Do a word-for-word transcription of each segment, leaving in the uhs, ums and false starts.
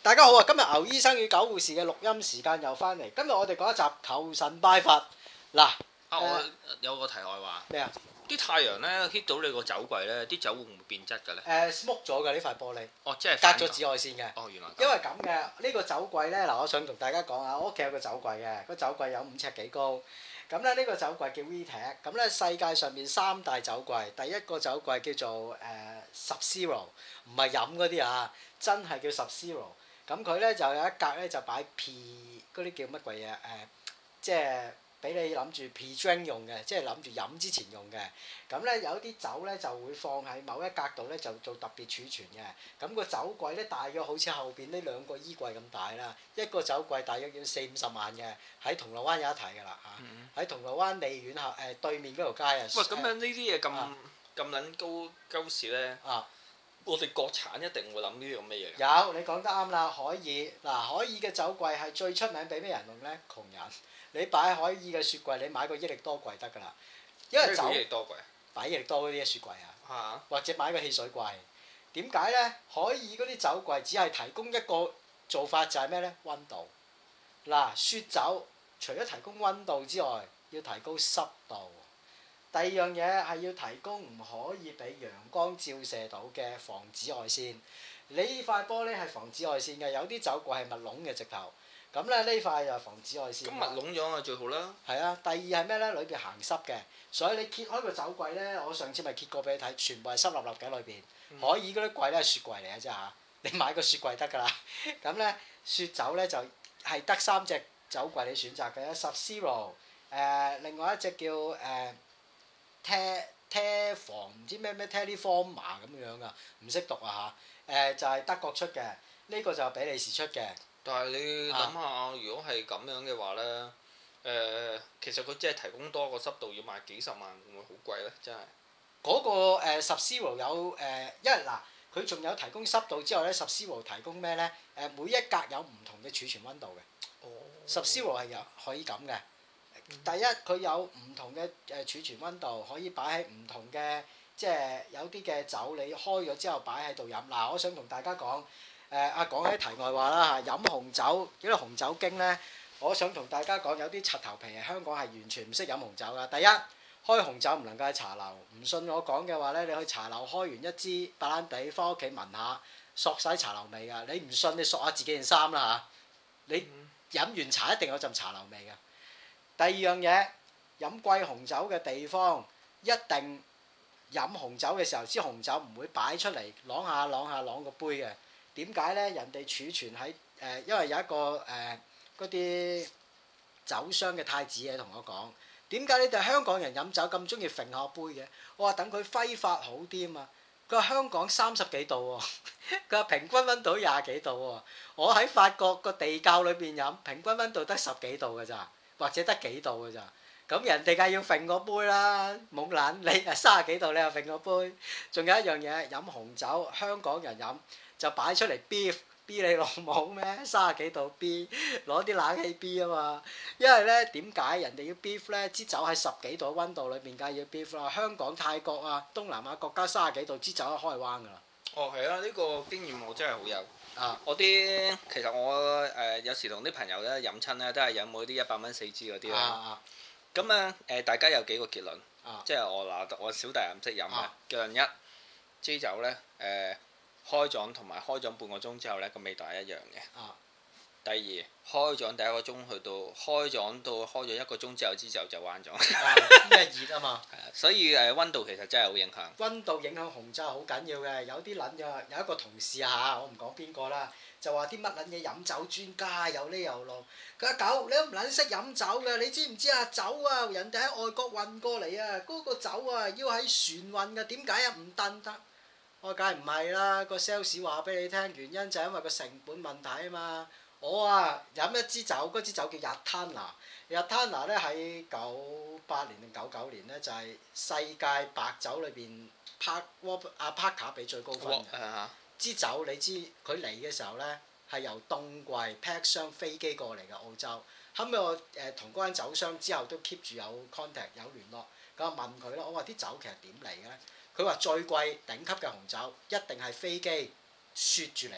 大家好啊！今日牛醫生與狗護士嘅錄音時間又翻嚟。今日我哋講一集求神拜佛。嗱， 啊，我有個題外話。 咩啊？ 啲太陽咧 hit 到你個酒櫃咧，啲酒會唔會變質嘅咧？ 誒 smoke 咗嘅呢塊玻璃。 哦，即係隔咗紫外線嘅。 哦，原來。 因為咁嘅呢個酒櫃咧，嗱，我想同大家講下，我屋企有個酒櫃嘅，個酒櫃有五尺幾高。咁咧呢個酒櫃叫 VTech，咁咧世界上面三大酒櫃，第一個酒櫃叫做誒 Sub-Zero，唔係飲嗰啲啊，真係叫 Sub-Zero。咁佢咧就有一格咧就擺 P 嗰啲叫乜鬼嘢誒，即係俾你諗住 P drink 用嘅，即係諗住飲之前用嘅。咁咧有啲酒咧就會放喺某一格度咧就做特別儲存嘅。咁個酒櫃咧大約好似後邊呢兩個衣櫃咁大啦，一個酒櫃大約要四五十萬嘅，喺銅鑼灣有一睇㗎啦嚇，喺銅鑼灣利苑後誒對面嗰條街啊。 喂，咁樣呢啲嘢咁咁撚高鳩士咧？啊！我哋國產一定會諗呢啲咁嘅嘢。 有，你講得啱啦，海爾嗱，海爾嘅酒櫃係最出名俾咩人用咧？窮人，你擺海爾嘅雪櫃，你買個益力多櫃得㗎啦。因為酒益力多櫃， 擺益力多嗰啲雪櫃啊， 啊或者買個汽水櫃。點解咧？海爾嗰啲酒櫃只係提供一個做法，就係咩咧？溫度。嗱，雪酒除咗提供溫度之外，要提高濕度。第二樣嘢係要提供唔可以俾陽光照射到嘅防紫外線。你呢塊玻璃係防紫外線嘅，有啲酒櫃係密籠嘅直頭。咁咧呢塊又係防紫外線。 咁密籠咗啊最好啦。 係啊，第二係咩咧？裏邊行濕嘅，所以你揭開個酒櫃咧，我上次咪揭過俾你睇，全部係濕立立嘅裏邊。嗯、海爾嗰啲櫃咧係雪櫃嚟嘅啫嚇，你買個雪櫃得㗎啦。咁咧雪酒咧就係得三隻酒櫃你選擇嘅，Sub-Zero，誒另外一隻叫誒。呃車車房唔知咩咩 Teleforma 咁樣噶，唔識讀啊嚇！誒、呃、就係、是、德國出嘅，呢、這個就係比利時出嘅。但係你諗下， 啊、如果係咁樣嘅話咧，誒、呃、其實佢即係提供多個濕度要賣幾十萬，會唔會好貴咧？真係嗰、那個誒 Sub-Zero 有誒、呃，因為嗱佢仲有提供濕度之後咧，Sub-Zero提供咩咧？誒、呃、每一格有唔同嘅儲存溫度嘅。哦。Sub-Zero 係有可以咁嘅。第一，佢有唔同嘅誒儲存溫度，可以擺喺唔同嘅，即係有啲嘅酒你開咗之後擺喺度飲。嗱，我想同大家講，誒啊講起題外話啦嚇，飲紅酒，因為紅酒經咧，我想同大家講，有啲柒頭皮係香港係完全唔識飲紅酒噶。第一，開紅酒唔能夠喺茶樓，唔信我講嘅話咧，你去茶樓開完一支白蘭地，翻屋企聞下，索晒茶樓味噶。你唔信你索下自己件衫啦嚇，你飲完茶一定有陣茶樓味噶。第二樣嘢，飲貴紅酒嘅地方，一定飲紅酒嘅時候，支紅酒唔會擺出嚟啷下啷下啷個杯嘅。點解咧？人哋儲存喺誒、呃，因為有一個誒嗰啲酒商嘅太子爺同我講，點解你哋香港人飲酒咁中意揈下杯嘅？我話等佢揮發好啲啊嘛。佢話香港三十幾度喎，佢話平均溫度廿幾度喎。我喺法國個地窖裏邊飲，平均溫度得十幾度㗎咋。或者得幾度㗎咋？咁人哋梗係要揈個杯啦，冇撚你啊三十幾度你又揈個杯。仲有一樣嘢，飲紅酒，香港人飲就擺出嚟 B B 你老母咩？三十幾度 B 攞啲冷氣 B 啊嘛。因為咧點解人哋要 beef 咧？支酒喺十幾度溫度裏邊梗係要 beef 啦。香港、泰國啊、東南亞國家三十幾度支酒都開彎㗎啦。哦，係啊，呢、呢個經驗我真係好有。啊！我啲其實我誒、呃、有時同啲朋友咧飲親咧都係飲嗰啲一百蚊四支嗰啲啦。咁啊誒，大家有幾個結論？啊、即係我嗱，我小弟唔識飲嘅。結論一，支酒咧誒開咗同埋開咗半個鐘之後咧個味道係一樣嘅。啊、第二，開咗第一個鐘去到開咗到開咗一個鐘之後支酒就彎咗。因為熱啊嘛。係啊，所以誒溫度其實真係好影響。溫度影響紅酒係好緊要嘅，有啲撚嘅有一個同事啊，我唔講邊個啦，就話啲乜撚嘢飲酒專家有呢有路。佢話狗你都唔撚識飲酒嘅，你知唔知啊？酒啊，人哋喺外國運過嚟啊，嗰、嗰個酒啊要喺船運嘅，點解啊唔燉得？我梗係唔係啦，個 sales 話俾你聽，原因就係因為個成本問題啊嘛。我啊飲一支酒，嗰支酒叫 Yattarna，Yattarna 咧喺九八年定九九年咧就係、是、世界白酒裏邊 Park 阿 Parker 俾最高分嘅。Uh huh. 支酒你知佢嚟嘅時候咧係由凍櫃 pack 箱飛機過嚟嘅澳洲。後尾我誒同嗰間酒商之後都 keep 住有 contact 有聯絡，咁我問佢咯，我話啲酒其實點嚟嘅咧？佢話最貴頂級嘅紅酒一定係飛機雪住嚟嘅。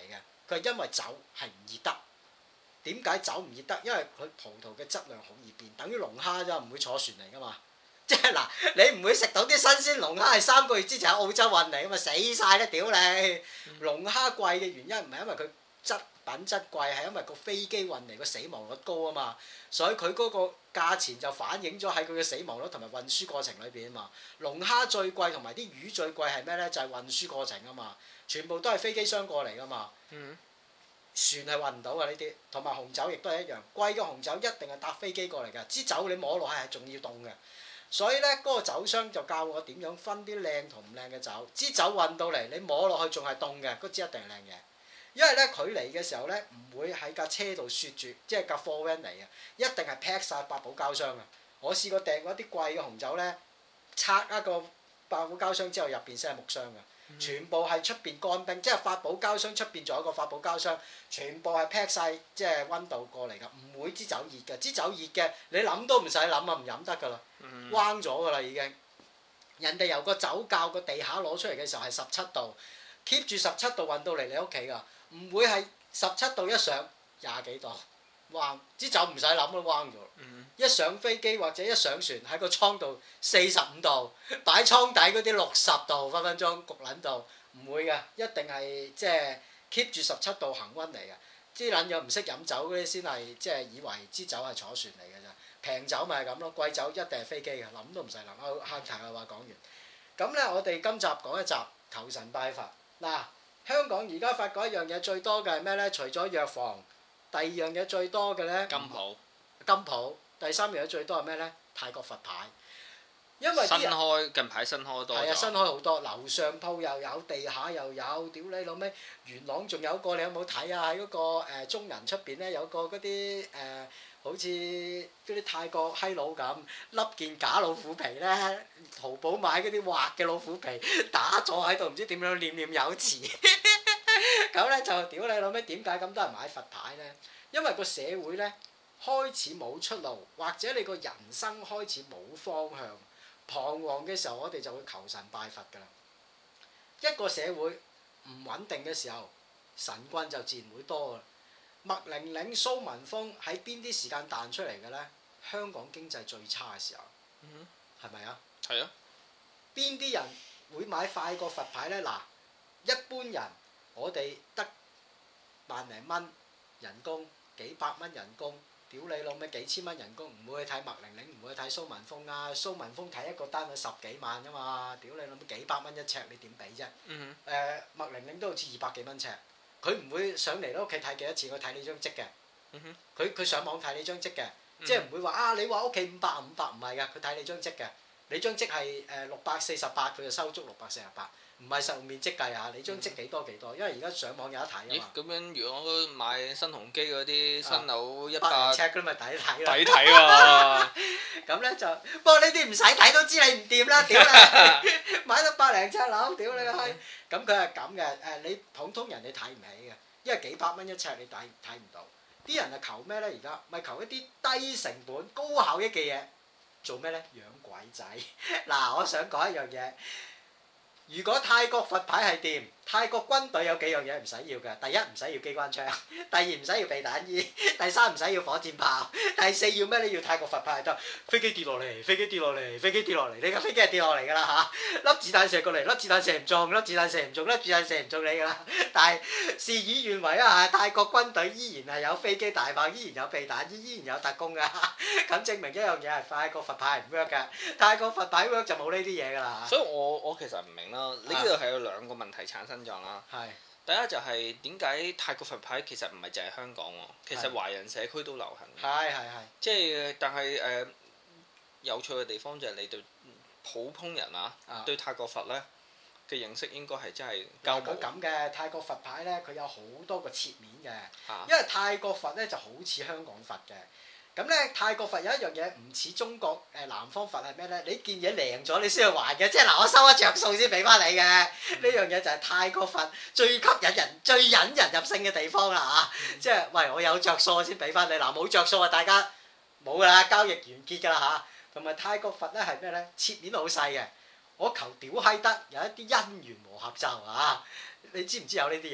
佢係因為酒係唔熱得。點解酒唔熱得？因為佢葡萄嘅質量好易變，等於龍蝦啫，唔會坐船嚟噶嘛。即係嗱，你唔會食到啲新鮮龍蝦係三個月之前喺澳洲運嚟噶嘛，死晒啦屌你！龍蝦貴嘅原因唔係因為佢質品質貴，係因為個飛機運嚟個死亡率高啊嘛，所以佢嗰個價錢就反映咗喺佢嘅死亡率同埋運輸過程裏邊啊嘛。龍蝦最貴同埋啲魚最貴係咩咧？就係、是、運輸過程啊嘛，全部都係飛機箱過嚟噶嘛。嗯、船係運唔到嘅呢啲，同埋紅酒亦都係一樣，貴嘅紅酒一定係搭飛機過嚟㗎。支酒你摸落係仲要凍嘅。所以咧，嗰個酒商就教我點樣分啲靚同唔靚嘅酒。支酒運到嚟，你摸落去仲係凍嘅，嗰支一定係靚嘢。因為咧，佢嚟嘅時候咧，唔會喺架車度雪住，即係架貨 van 嚟嘅，一定係 pack 曬百寶膠箱嘅。我試過訂嗰啲貴嘅紅酒咧，拆一個百寶膠箱之後，入邊先係木箱嘅。全部係出邊乾冰，即係發寶膠箱出邊仲有一個發寶膠箱，全部係 pack 曬即係溫度過嚟㗎，唔會支酒熱嘅。支酒熱嘅，你諗都唔使諗啊，唔飲得㗎啦，彎咗㗎啦已經。人哋由個酒窖個地下攞出嚟嘅時候係十七度 ，keep 住十七度運到嚟你屋企㗎，唔會係十七度一上廿幾度，彎支酒唔使諗都彎咗。一上飛機或者一上船喺個倉度四十五度，擺倉底嗰啲六十度分分鐘焗撚到，唔會嘅，一定係即係 keep 住十七度恆溫嚟嘅。啲撚樣唔識飲酒嗰啲先係即係以為支酒係坐船嚟嘅咋，平酒咪係咁咯，貴酒一定係飛機嘅，諗都唔使諗。我客題嘅話講完，咁咧我哋今集講一集求神拜佛。嗱，香港而家發覺一樣嘢最多嘅係咩咧？除咗藥房，第二樣嘢最多嘅咧， 金鋪， 金鋪。第三樣嘢最多係咩咧？泰國佛牌，因為新開近排新開多咗。 係啊，新開好多，樓上鋪又有，地下又有，屌你老味！元朗仲有個，你有冇睇啊？喺嗰、嗰個、呃、中人出邊咧，有個嗰啲誒，好似嗰啲泰國閪佬咁，笠件假老虎皮咧，淘寶買嗰啲畫嘅老虎皮，打坐喺度，唔知點樣念念有詞。咁咧就屌你老味，點解咁多人買佛牌咧？因為個社會咧，開始冇出路，或者你個人生開始冇方向，彷徨嘅時候，我哋就會求神拜佛㗎啦。一個社會唔穩定嘅時候，神棍就自然會多㗎。麥玲玲、蘇文峰喺邊啲時間彈出嚟嘅咧？香港經濟最差嘅時候，係咪啊？ 係啊。 邊啲人會買快過佛牌咧？嗱，一般人我哋得萬零蚊人工，幾百蚊人工。屌你老味幾千蚊人工，唔會去睇麥玲玲，唔會去睇蘇文峰啊！蘇文峰睇一個單位十幾萬㗎嘛，屌你老味幾百蚊一尺，你點俾啫？誒、嗯哼呃、麥玲玲都好似二百幾蚊尺，佢唔會上嚟你屋企睇幾多次，佢睇你張積嘅。佢佢、嗯、哼上網睇你張積嘅，嗯、哼即係唔會話啊！你話屋企五百五百唔係㗎，佢睇你張積嘅。你張積係誒六百四十八，佢就收足六百四十八。唔係實用面積計啊！你張積幾多幾多？因為而家上網有得睇啊嘛。 咦？咁樣如果買新鴻基嗰啲新樓一百尺嗰啲咪抵睇啦。 抵睇喎！ 咁咧就，不過呢啲唔使睇都知你唔掂啦，屌你！買到百零尺樓，屌你個閪！咁佢係咁嘅，誒你普通人你睇唔起嘅，因為幾百蚊一尺你睇睇唔到。啲人係求咩咧？而家咪求一啲低成本、高效益嘅嘢，做咩咧？養鬼仔！嗱，我想講一樣嘢。如果泰國佛牌係掂，泰國軍隊有幾樣嘢唔使要嘅。第一唔使要機關槍，第二唔使要避彈衣，第三唔使要火箭炮，第四要咩？你要泰國佛牌得。飛機跌落嚟，飛機跌落嚟，飛機跌落嚟，你架飛機係跌落嚟㗎啦嚇！粒子彈射過嚟，粒子彈射唔中，粒子彈射唔中，粒子彈射唔中你㗎啦。但係事與願違啊！泰國軍隊依然係有飛機大炮，依然有避彈衣，依然有特工㗎。咁證明一樣嘢係泰國佛牌唔 work 㗎。泰國佛牌 work 就冇呢啲嘢㗎啦。 所以我我其實唔明啦。呢度係有兩個問題產生咗啦。係。第一就係點解泰國佛牌其實唔係淨係香港喎，其實華人社區都流行。係係係。即係但係誒有趣嘅地方就係你對普通人啊，對泰國佛咧嘅認識應該係真係交冇。佢咁嘅泰國佛牌咧，佢有好多個切面嘅，因為泰國佛咧就好似香港佛嘅。咁咧泰國佛有一樣嘢唔似中國誒南方佛係咩咧？你件嘢靚咗你先去還嘅，即係嗱我收一着數先俾翻你嘅。呢樣嘢就係泰國佛最吸引人、最引人入勝嘅地方啦嚇！即係喂我有着數先俾翻你，嗱冇着數啊大家冇㗎啦，交易完結㗎啦嚇。同埋泰國佛咧係咩咧？切面好細嘅，我求屌閪得有一啲因緣和合咒啊！你知唔知有呢啲嘢㗎？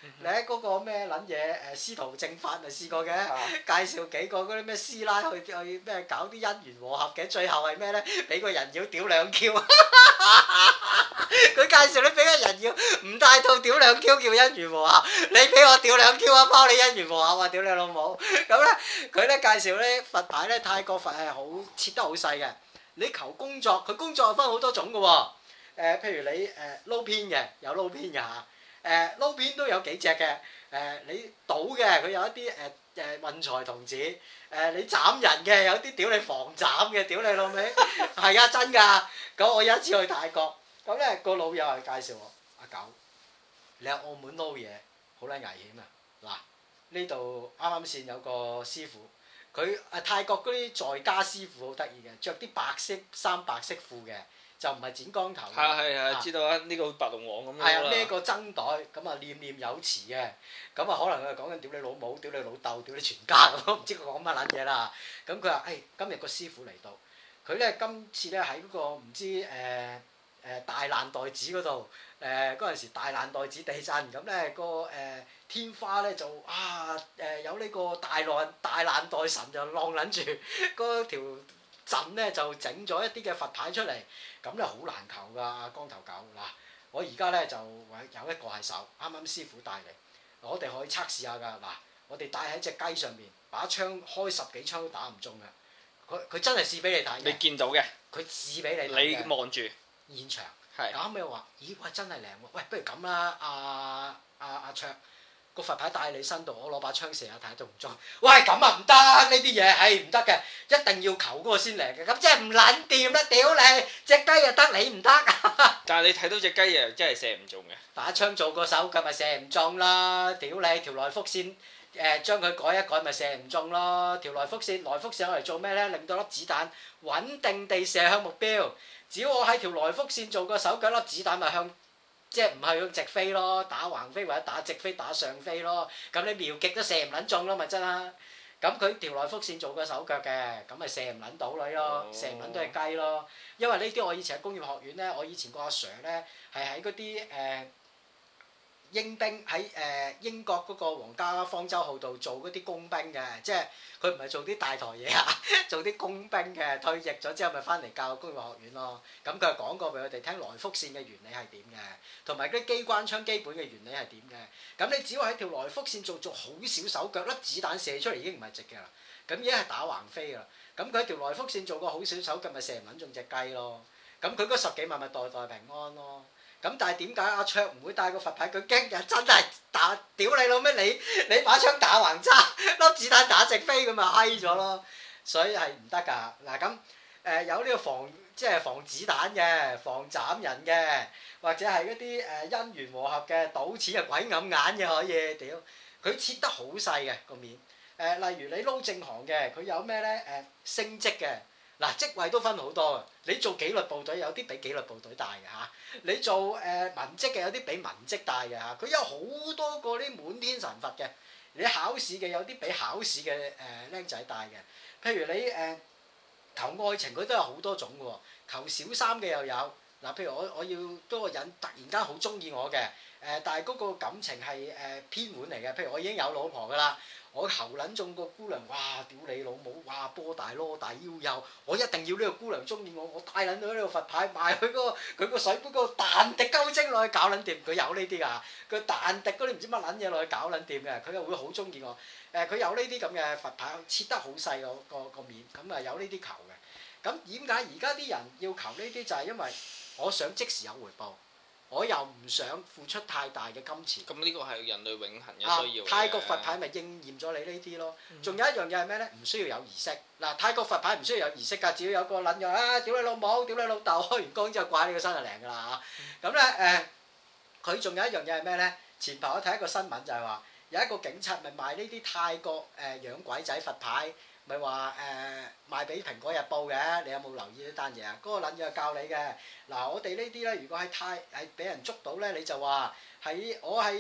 你喺嗰個咩撚嘢誒司徒正法咪試過嘅，介紹幾個嗰啲咩師奶去去咩搞啲姻緣和合嘅，最後係咩咧？俾個人妖屌兩 Q， 佢介紹你俾個人妖唔帶套屌兩 Q 叫姻緣和合，你俾我屌兩 Q 啊，包你姻緣和合啊，屌你老母！咁咧佢咧介紹咧佛牌咧，泰國佛係好切得好細嘅。你求工作，佢工作分好多種嘅喎。誒，譬如你誒撈偏嘅，有撈偏嘅嚇。誒撈偏都有幾隻嘅。誒你賭嘅，佢有一啲誒誒運財童子。誒你斬人嘅，有啲屌你防斬嘅，屌你老味。係啊，真㗎。咁我有一次去泰國，咁咧個老友係介紹我，阿九，你喺澳門撈嘢好撚危險啊！嗱，呢度啱啱先有個師傅。佢誒泰國嗰啲在家師傅好得意嘅，着啲白色衫白色褲嘅，就唔係剪光頭。 係係係，知道啊！呢個白龍王咁樣啦。係啊，孭個僧袋，咁啊念念有詞嘅，咁啊可能佢係講緊屌你老母、屌你老豆、屌你全家咁，唔知佢講乜撚嘢啦。咁佢話：誒今日個師傅嚟到，佢咧今次咧喺嗰個唔知誒誒大難代子嗰度，誒嗰陣時大難代子地震，咁咧個誒。天花咧就啊誒有呢個大難大難代神就晾撚住嗰條陣咧就整咗一啲嘅佛牌出嚟，咁咧好難求㗎光頭狗嗱，我而家咧就有一個係手，啱啱師傅帶嚟，我哋可以測試下㗎嗱，我哋戴喺隻雞上面，把槍開十幾槍都打唔中㗎，佢佢真係試俾你睇嘅， 你見到嘅， 佢試俾你睇嘅， 你望住現場， 係， 咁咪話咦喂真係靚喎，喂不如咁啦，阿阿阿卓。個佛牌帶喺你身度，我攞把槍射下睇下中唔中。喂，咁啊唔得，呢啲嘢係唔得嘅，一定要求嗰個先嚟嘅。咁即係唔撚掂啦，屌你！隻雞又得你唔得。 但係你睇到隻雞又真係射唔中嘅。 把槍做個手腳咪射唔中啦，屌你條來福線誒將佢改一改咪射唔中咯。條來福線來福線攞嚟做咩咧？令到粒子彈穩定地射向目標。只要我喺條來福線做個手腳，粒子彈咪向。即係唔係用直飛咯，打橫飛或者打直飛打上飛咯，咁你瞄極都射唔撚中咯，咪真啦。咁佢條來福線做個手腳嘅，咁咪射唔撚到女咯，射唔撚都係雞咯。因為呢啲我以前喺工業學院咧，我以前個阿 Sir 咧係喺嗰啲誒英兵喺誒、呃、英國嗰個皇家方舟號度做嗰啲工兵嘅，即係佢唔係做啲大台嘢啊，做啲工兵嘅，退役咗之後咪翻嚟教工業學院咯。咁佢係講過俾我哋聽來福線嘅原理係點嘅，同埋嗰啲機關槍基本嘅原理係點嘅。咁你只要喺條來福線做做好少手腳，粒子彈射出嚟已經唔係直嘅啦，咁已經係打橫飛㗎啦。咁佢喺條來福線做個好少手腳咪射唔撚中隻雞咯。咁佢嗰十幾萬咪代代平安咯。咁但係點解阿卓唔會帶個佛牌？佢驚又真係打屌你老咩？你你把槍打橫揸，粒子彈打直飛咁咪閪咗咯。所以係唔得㗎。嗱咁誒有呢個防即係防子彈嘅，防斬人嘅，或者係嗰啲誒姻緣和合嘅，賭錢係鬼揞眼嘅可以。屌佢切得好細嘅個面。誒、呃、例如你撈正行嘅，佢有咩咧？誒、呃、升職嘅。嗱職位都分好多嘅，你做紀律部隊有啲比紀律部隊大嘅嚇，你做誒、呃、文職嘅有啲比文職大嘅嚇，佢有好多個啲滿天神佛嘅，你考試嘅有啲比考試嘅誒僆仔大嘅，譬如你誒、呃、求愛情佢都有好多種嘅喎，求小三嘅又有，嗱譬如我我要嗰個人突然間好中意我嘅，誒、呃、但係嗰個感情係誒、呃、偏門嚟嘅，譬如我已經有老婆㗎啦。我求撚中個姑娘，哇！屌你老母，哇！波大攞大腰幼，我一定要呢個姑娘中意我，我帶撚到呢個佛牌賣佢嗰個佢個水杯嗰個彈滴鳩精落去搞撚掂，佢有呢啲㗎，佢彈滴嗰啲唔知乜撚嘢落去搞撚掂嘅，佢又會好中意我。誒、呃，佢有呢啲咁嘅佛牌，切得好細個個個面，咁啊有呢啲求嘅。咁點解而家啲人要求呢啲？就係因為我想即時有回報。我又唔想付出太大嘅金錢。咁呢個係人類永恆嘅需要。啊、泰國佛牌咪應驗咗你呢啲咯。仲、嗯、有一樣嘢係咩咧？唔需要有儀式。嗱、啊，泰國佛牌唔需要有儀式㗎，只要有個撚樣啊，屌你老母，屌你老豆，開完光之後掛你個身就靈㗎啦嚇。咁咧誒，佢、呃、仲有一樣嘢係咩咧？前排我睇一個新聞就係話，有一個警察咪賣呢啲泰國誒、呃、養鬼仔佛牌。咪話誒賣俾《蘋果日報》嘅，你有冇留意呢單嘢啊？嗰、那個撚嘢教你嘅。嗱、啊，我哋呢啲咧，如果喺泰係俾人捉到咧，你就話喺我係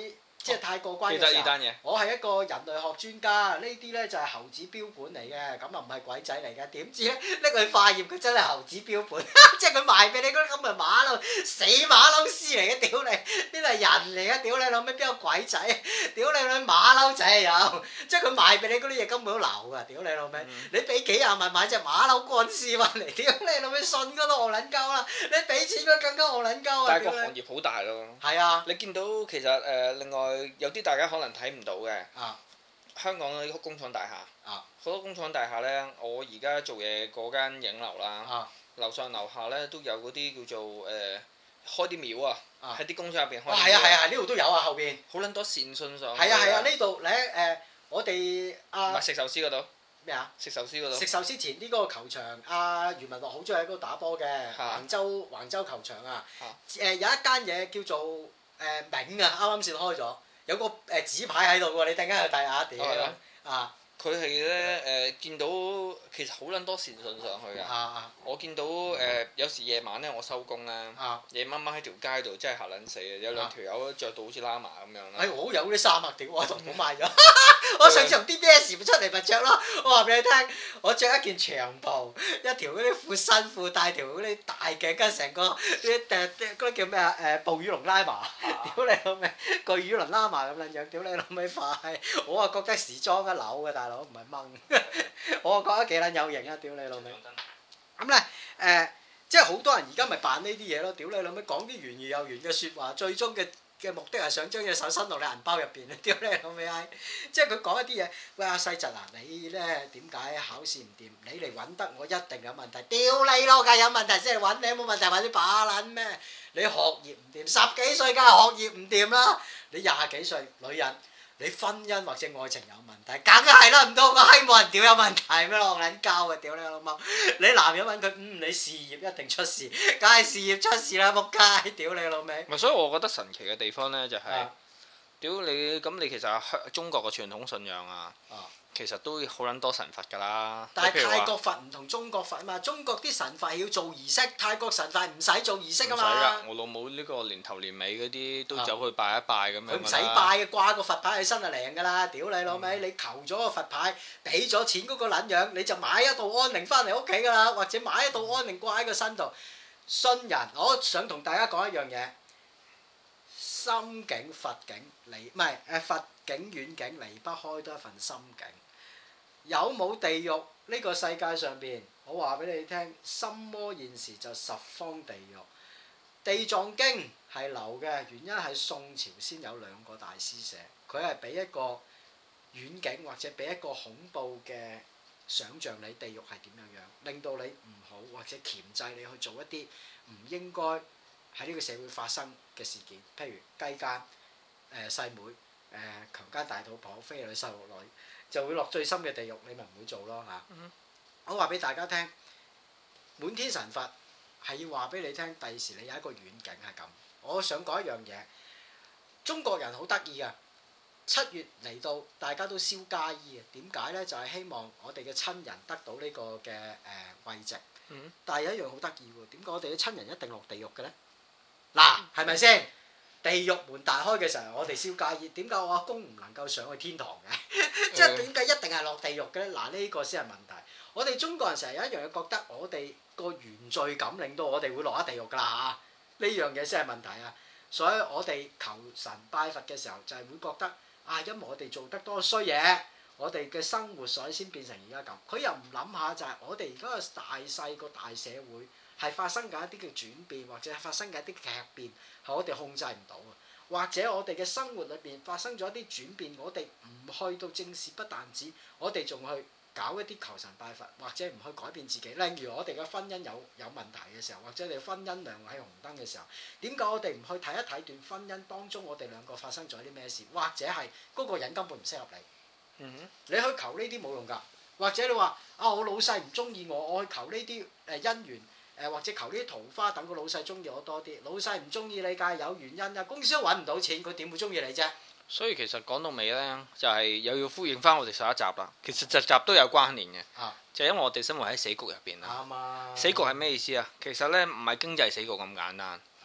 即係太過關嘅時候，我係一個人類學專家，呢啲咧就係猴子標本嚟嘅，咁啊唔係鬼仔嚟嘅。點知咧拎去化驗，佢真係猴子標本，即係佢賣俾你嗰啲咁嘅馬騮死馬騮屍嚟嘅，屌你！邊度係人嚟嘅？屌你老味邊有鬼仔？屌你老味馬騮仔有，即係佢賣俾你嗰啲嘢根本都流㗎，屌你老味！嗯、你俾幾廿萬買隻馬騮乾屍翻嚟，屌你老味信嗰都戇撚鳩啦！你俾錢佢更加戇撚鳩啊！ 但係個行業好大咯。係啊，你見到其實誒、呃、另外。有啲大家可能睇唔到嘅，啊、香港嗰啲工廠大廈，好、啊、多工廠大廈呢，我而家做嘢嗰間影樓啦，啊、樓上樓下呢都有嗰啲叫做誒、呃、開啲廟啊，喺啲、啊、工廠入邊開。哇，係啊係啊，呢度都有啊後邊。好撚多善信上。係啊係啊，呢度咧誒，我哋啊。唔係食壽司嗰度。咩啊？食壽司嗰度。食壽司前呢個球場，阿余文樂好中意喺嗰度打波嘅，橫、啊、州橫州球場啊。誒、呃、有一間嘢叫做誒銘啊，啱啱先開咗。有個誒紙牌喺度喎，你突然間去睇下屌啊！佢係咧誒見到其實好撚多善信上去嘅。啊、我見到誒、呃、有時夜晚咧，我收工咧，啊、夜晚晚喺條街度真係嚇撚死嘅，有兩條友着到好似喇嘛咁樣啦。誒、哎，我有啲衫啊，屌我同我買咗。我上次同 D B S 出嚟咪着咯，我話俾你聽，我着一件長袍，一條嗰啲闊身褲，帶條嗰啲大頸巾，成個啲誒嗰啲叫咩啊？誒暴雨龍拉麻，屌你老味，巨雨龍拉麻咁撚樣，屌你老味快！我啊覺得時裝一流嘅大佬，唔係掹，我啊覺得幾撚有型啊！屌你老味。咁咧誒，即係好多人而家咪扮呢啲嘢咯，屌你老味，講啲圓而又圓嘅説話，最終嘅嘅目的係想將隻手伸落你銀包入邊啊！屌你老味閪，即係佢講一啲嘢，喂阿細侄啊，你咧點解考試唔掂？你嚟揾得我一定有問題，屌你咯，梗係有問題先嚟揾你，冇問題揾啲把撚咩？你學業唔掂，十幾歲梗係學業唔掂啦，你廿幾歲女人。你婚姻或者愛情有問題，梗係啦，唔通個閪冇人屌有問題咩？戇撚交啊！屌你老母！你男人問佢，嗯，你事業一定出事，梗係事業出事啦！仆街！屌你老味！咪所以我覺得神奇嘅地方咧，就係、是，屌、啊、你咁你其實香中國嘅傳統信仰啊。啊其實都好撚多神佛㗎啦，但係泰國佛唔同中國佛啊嘛，中國啲神佛係要做儀式，泰國神佛唔使做儀式啊嘛。唔使㗎，我老母呢個年頭年尾嗰啲都走去拜一拜咁樣。佢唔使拜嘅，掛個佛牌喺身就靈㗎啦，屌你老味！嗯、你求咗個佛牌，俾咗錢嗰個撚樣，你就買一道安寧翻嚟屋企㗎啦，或者買一道安寧掛喺個身度。信人，我想同大家講一樣嘢，心境佛境離唔係誒佛境遠境離不開多一份心境。有冇地獄呢個世界上邊？我話俾你聽，心魔現時就十方地獄。地藏經係流嘅原因係宋朝先有兩個大師寫，佢係俾一個遠景或者俾一個恐怖嘅想像你地獄係點樣樣，令到你唔好或者鉗制你去做一啲唔應該喺呢個社會發生嘅事件，譬如雞姦、誒細妹、誒、呃、強姦大肚婆、非禮細路女。就會落最深嘅地獄，你咪唔會做咯嚇。嗯、我話俾大家聽，滿天神佛係要話俾你聽，第時你有一個遠景係咁。我想講一樣嘢，中國人好得意噶，七月嚟到大家都燒家衣啊。點解咧？就係、是、希望我哋嘅親人得到呢個嘅誒慰藉。嗯、但係有一樣好得意喎，點解我哋嘅親人一定落地獄嘅咧？嗱，係咪先？地獄門大開嘅時候，我哋燒家衣。點解我阿公唔能夠上去天堂嘅？即係點解一定係落地獄嘅咧？嗱，呢個先係問題。我哋中國人成日有一樣嘢覺得，我哋個原罪感令到我哋會落咗地獄㗎啦嚇。呢樣嘢先係問題啊！所以我哋求神拜佛嘅時候，就係會覺得啊，因為我哋做得多衰嘢，我哋嘅生活所以先變成而家咁。佢又唔諗下就係我哋而家個大細個大社會係發生緊一啲嘅轉變，或者係發生緊一啲劇變。係我哋控制唔到啊，或者我哋嘅生活裏邊發生咗一啲轉變，我哋唔去到正視，不但止，我哋仲去搞一啲求神拜佛，或者唔去改變自己。例如我哋嘅婚姻有有問題嘅時候，或者你婚姻亮喺紅燈嘅時候，點解我哋唔去睇一睇段婚姻當中我哋兩個發生咗啲咩事，或者係嗰個人根本唔適合你。嗯哼，你去求呢啲冇用㗎，或者你話啊我老細唔中意我，我去求呢啲誒姻緣。誒或者求呢啲桃花，等個老細中意我多啲。老細唔中意你，梗係有原因啊！公司都揾唔到錢，佢點會中意你啫？所以其實講到尾咧，就係、是、又要呼應翻我哋上一集啦。其實集集都有關聯嘅，啊、就係因為我哋生活喺死局入邊啊。啱啊！死局係咩意思啊？其實咧唔係經濟死局咁簡單，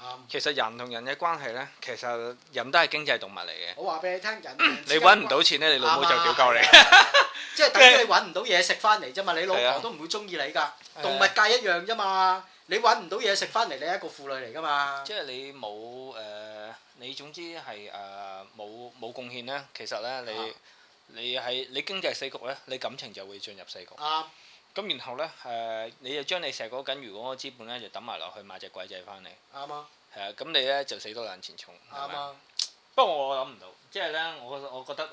其實人同人嘅關係咧，其實人都係經濟動物嚟嘅。 我話俾你聽，人你揾唔到錢咧，你老母就屌鳩你。 即係等於你揾唔到嘢食翻嚟啫嘛，你老婆都唔會中意你㗎。動物界一樣啫嘛，你揾唔到嘢食翻嚟，你係一個婦女嚟㗎嘛。 即係你冇誒，你總之係誒冇冇貢獻咧，其實咧你你係你經濟死局咧，你感情就會進入死局。啱。咁然後咧誒，你就將你石果緊，如果個資本咧就抌埋落去買隻鬼仔翻嚟。啱啊。係啊，咁你咧就死多兩錢重。啱啊。不過我諗唔到，即係咧，我我覺得誒。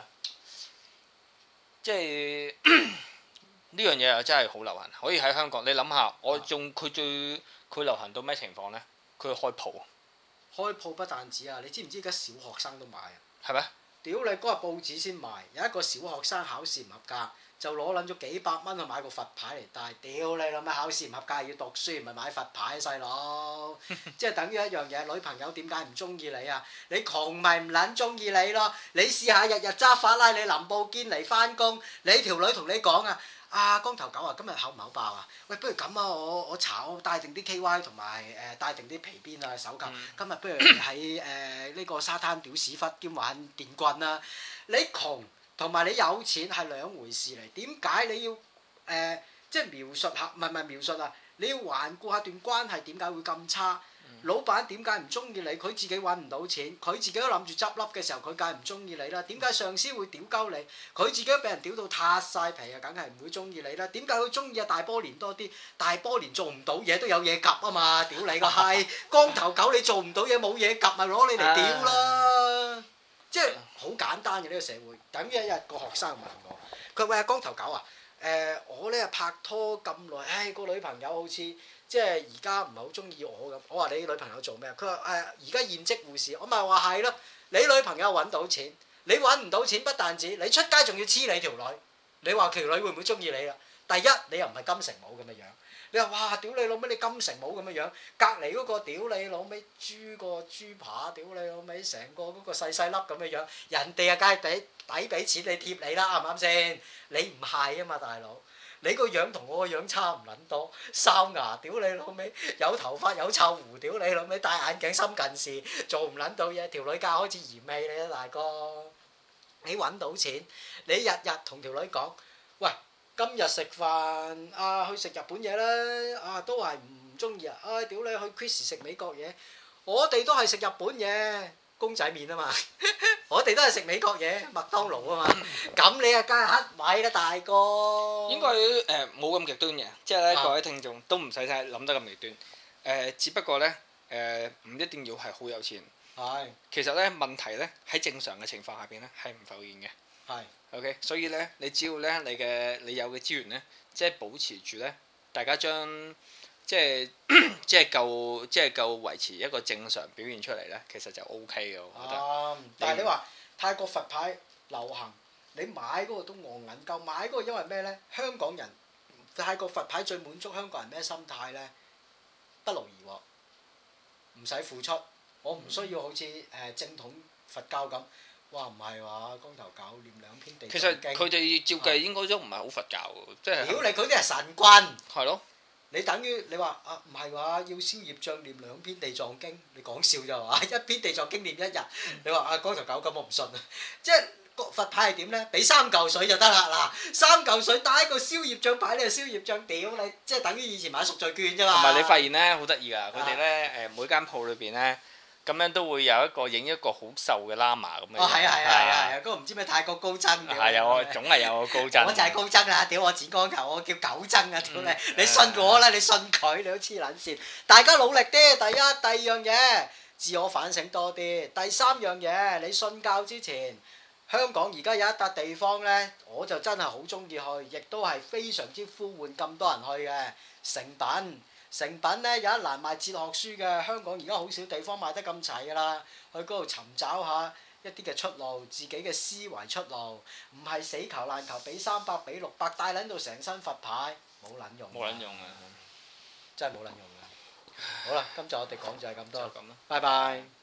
即係呢樣嘢又真係好流行，可以喺香港。你諗下，我仲佢最佢流行到咩情況呢？佢開鋪， 開鋪不但止啊！你知唔知而家小學生都買啊？ 係咩？ 屌你嗰日報紙先賣，有一個小學生考試唔合格，就攞撚咗幾百蚊去買個佛牌嚟戴。屌你諗下考試唔合格要讀書，唔係買佛牌，細佬。即係等於一樣嘢，女朋友點解唔中意你啊？你窮咪唔撚中意你咯？你試下日日揸法拉利林布堅尼翻工，你條女同你講啊，啊光頭狗啊，今日口唔口爆啊？喂，不如咁啊，我我查我帶定啲 K Y 同埋誒帶定啲皮鞭啊手甲，嗯、今日不如喺誒呢個沙灘屌屎忽兼玩電棍啊！你窮同埋你有錢係兩回事嚟，點解你要誒、呃、即係描述下？唔係唔係描述啊！你要環顧下段關係點解會咁差？嗯、老闆點解唔中意你？佢自己揾唔到錢，佢自己都諗住執笠嘅時候，佢梗係唔中意你啦。點解上司會屌鳩你？佢自己都俾人屌到塌晒皮啊，梗係唔會中意你啦。點解佢中意啊大波年多啲？大波年做唔到嘢都有嘢夾啊嘛！屌你個閪，光頭狗你做唔到嘢冇嘢夾咪攞你嚟屌啦！即係好簡單嘅呢、呢個社會，等於一日個學生問我，佢話喂光頭狗啊，誒、呃、我咧拍拖咁耐，唉個女朋友好似即係而家唔係好中意我咁。我話你女朋友做咩啊？佢話誒而家現職護士，我咪話係咯。你女朋友揾到錢，你揾唔到錢不但止，你出街仲要黐你條女，你話條女會唔會中意你啦？第一你又唔係金城武咁嘅樣。你話哇屌你老味你金城武咁嘅樣，隔離嗰個屌你老味豬個豬扒，屌你老味成個嗰個細細粒咁嘅樣，人哋啊梗係抵抵俾錢你貼你啦，啱唔啱先？你唔係啊嘛大佬，你個樣同我個樣差唔撚多，哨牙屌你老味，有頭髮有臭胡屌你老味，戴眼鏡深近視，做唔撚到嘢，條女家開始嫌棄你啦大哥，你揾到錢，你日日同條女講，喂。今日食飯啊，去食日本嘢啦！啊，都係唔中意啊！唉，屌你去 Chris 食美國嘢，我哋都係食日本嘢，公仔麵啊嘛！我哋都係食美國嘢，麥當勞啊嘛！咁你啊梗係黑米啦，大哥！ 應該誒冇咁極端嘅，即係咧各位聽眾都唔使睇諗得咁極端。誒，只不過咧誒唔一定要係好有錢。係。其實咧問題咧喺正常嘅情況下邊咧係唔浮現嘅。係。OK，所以咧，你只要咧，你嘅你有嘅資源咧，即係保持住咧，大家將即係即係夠即係夠維持一個正常表現出嚟咧，其實就 O K 嘅，我覺得。 啊、但係你話泰國佛牌流行，你買嗰個都戇銀夠，買嗰個因為咩咧？香港人泰國佛牌最滿足香港人咩心態咧？不勞而獲，唔使付出，我唔需要好似誒、呃、正統佛教咁。哇唔係話光頭狗念兩篇地藏經， 其實佢哋照計應該都唔係好佛教嘅，即係。 屌你佢啲係神棍。係咯。你等於你話啊唔係話要消業障念兩篇地藏經，你講笑咋嘛？一篇地藏經念一日，你話啊光頭狗咁我唔信啊！即係佛牌係點咧？俾三嚿水就得啦嗱，三嚿水帶個消業障牌你就消業障，屌你！即係等於以前買贖罪券啫嘛。 同埋你發現咧好得意㗎，佢哋咧誒每間鋪裏邊咧。咁樣都會有一個影一個好瘦嘅喇嘛咁樣。 哦，係啊係啊係啊！嗰個唔知咩泰國高僧嘅。係有，總係有個高僧。 我就係高僧啦！屌我剪光頭，我叫狗僧啊！屌你，你信我啦！你信佢，你都黐撚線。大家努力啲，第一、第二樣嘢，自我反省多啲。第三樣嘢，你信教之前，香港而家有一笪地方咧，我就真係好中意去，亦都係非常之呼喚咁多人去嘅誠品。誠品咧有一欄賣哲學書嘅，香港而家好少地方賣得咁齊㗎啦。去嗰度尋找下一啲嘅出路，自己嘅思維出路，唔係死求爛求，俾三百俾六百，帶撚到成身佛牌，冇撚用。 冇撚用啊！ 真係冇撚用啊！好啦，今集我哋講就係咁多。 就咁啦。 拜拜。